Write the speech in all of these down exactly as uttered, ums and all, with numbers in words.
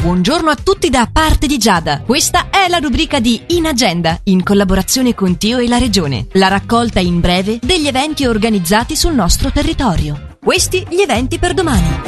buongiorno a tutti da parte di Giada. Questa è la rubrica di In Agenda, in collaborazione con Tio e la Regione. La raccolta in breve degli eventi organizzati sul nostro territorio. Questi gli eventi per domani.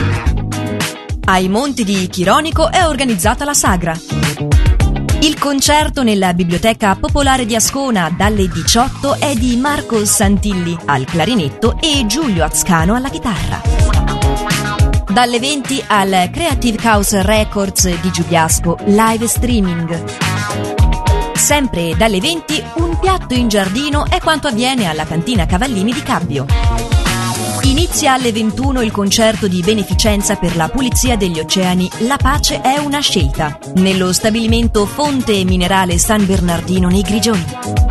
Ai Monti di Chironico è organizzata la Sagra. Il concerto nella Biblioteca Popolare di Ascona dalle diciotto è di Marco Santilli al clarinetto e Giulio Azcano alla chitarra. Dalle venti al Creative House Records di Giubiasco, live streaming. Sempre dalle venti, un piatto in giardino è quanto avviene alla cantina Cavallini di Cabbio. Inizia alle ventuno il concerto di beneficenza per la pulizia degli oceani La pace è una scelta, nello stabilimento Fonte Minerale San Bernardino nei Grigioni.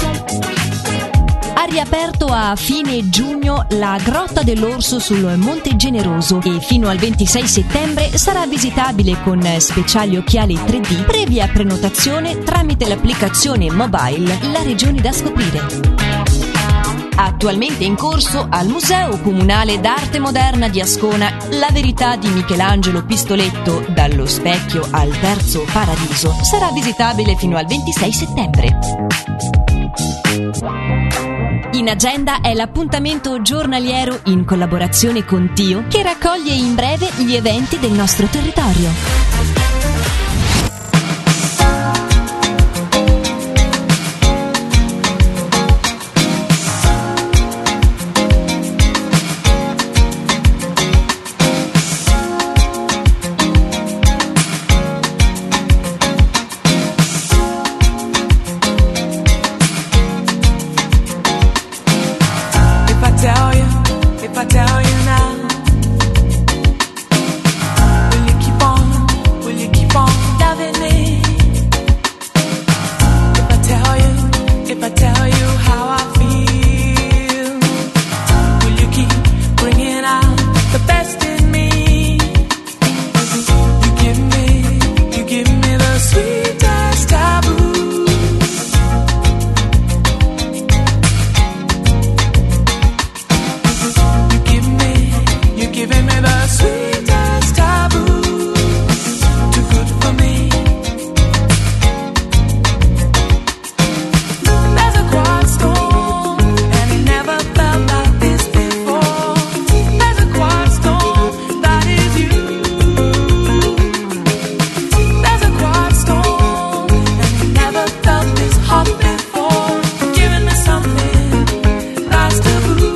Ha riaperto a fine giugno la Grotta dell'Orso sul Monte Generoso e fino al ventisei settembre sarà visitabile con speciali occhiali tre D previa prenotazione tramite l'applicazione mobile La Regione da scoprire. Attualmente in corso al Museo Comunale d'Arte Moderna di Ascona La verità di Michelangelo Pistoletto dallo specchio al terzo paradiso sarà visitabile fino al ventisei settembre. In Agenda è l'appuntamento giornaliero in collaborazione con Tio che raccoglie in breve gli eventi del nostro territorio. If I tell you now, will you keep on, will you keep on loving me? If I tell you, if I tell you how I feel, will you keep bringing out the best in me? You give me, you give me the sweetest taboo. Giving me the sweetest taboo, too good for me. There's a quiet storm, and it never felt like this before. There's a quiet storm, that is you. There's a quiet storm, and it never felt this hot before. Giving me something that's taboo.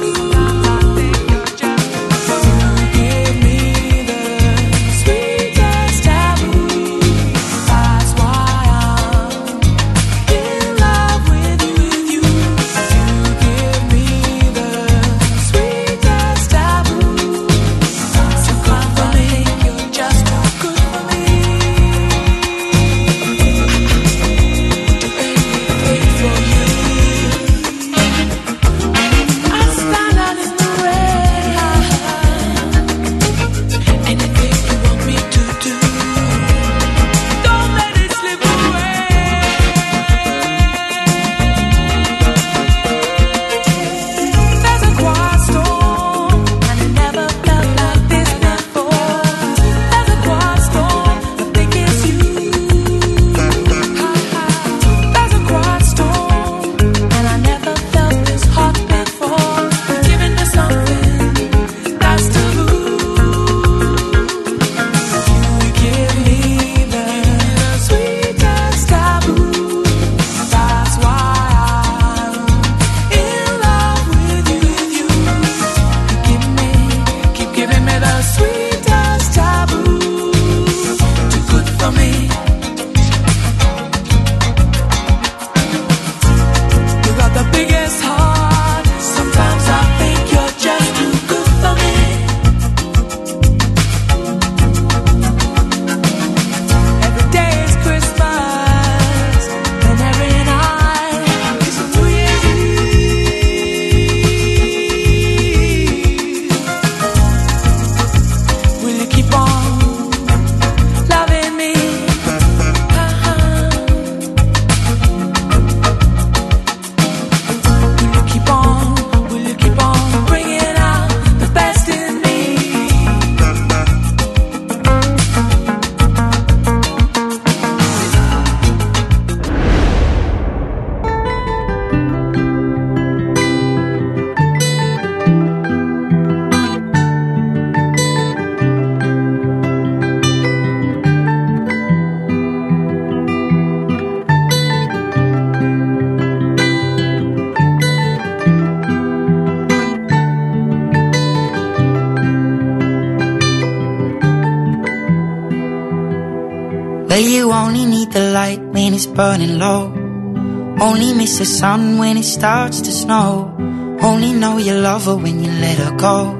Well, you only need the light when it's burning low. Only miss the sun when it starts to snow. Only know you love her when you let her go.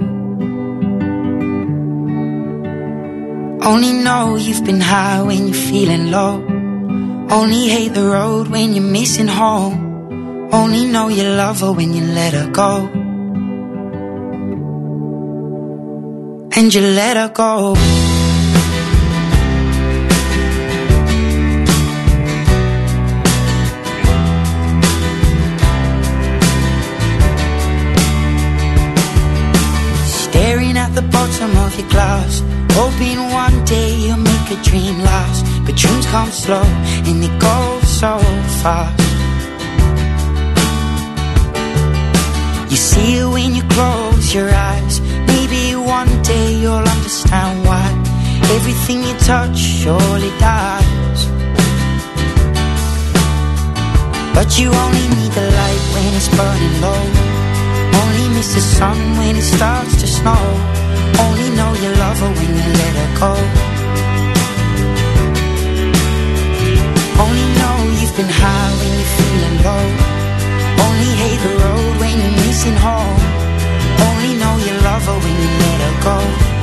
Only know you've been high when you're feeling low. Only hate the road when you're missing home. Only know you love her when you let her go. And you let her go. Staring at the bottom of your glass, hoping one day you'll make a dream last. But dreams come slow and they go so fast. You see it when you close your eyes. Maybe one day you'll understand why everything you touch surely dies. But you only need the light when it's burning low. Only miss the sun when it starts to snow. Only know you love her when you let her go. Only know you've been high when you're feeling low. Only hate the road when you're missing home. Only know you love her when you let her go.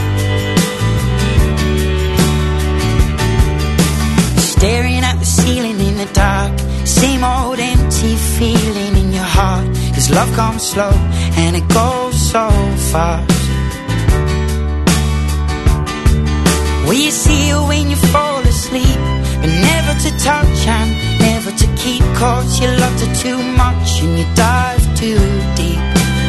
Staring at the ceiling in the dark, same old empty feeling in your heart. Cause love comes slow and it goes so fast. Will you see her when you fall asleep, but never to touch and never to keep? Cause you loved her too much and you dive too deep.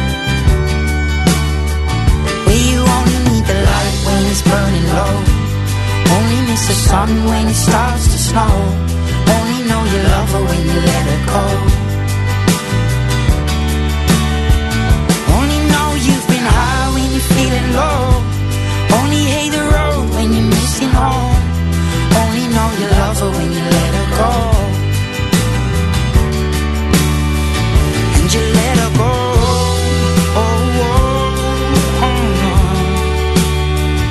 Well, you only need the light when it's burning low. Only miss the sun when it starts to snow. Only know you love her when you let her go.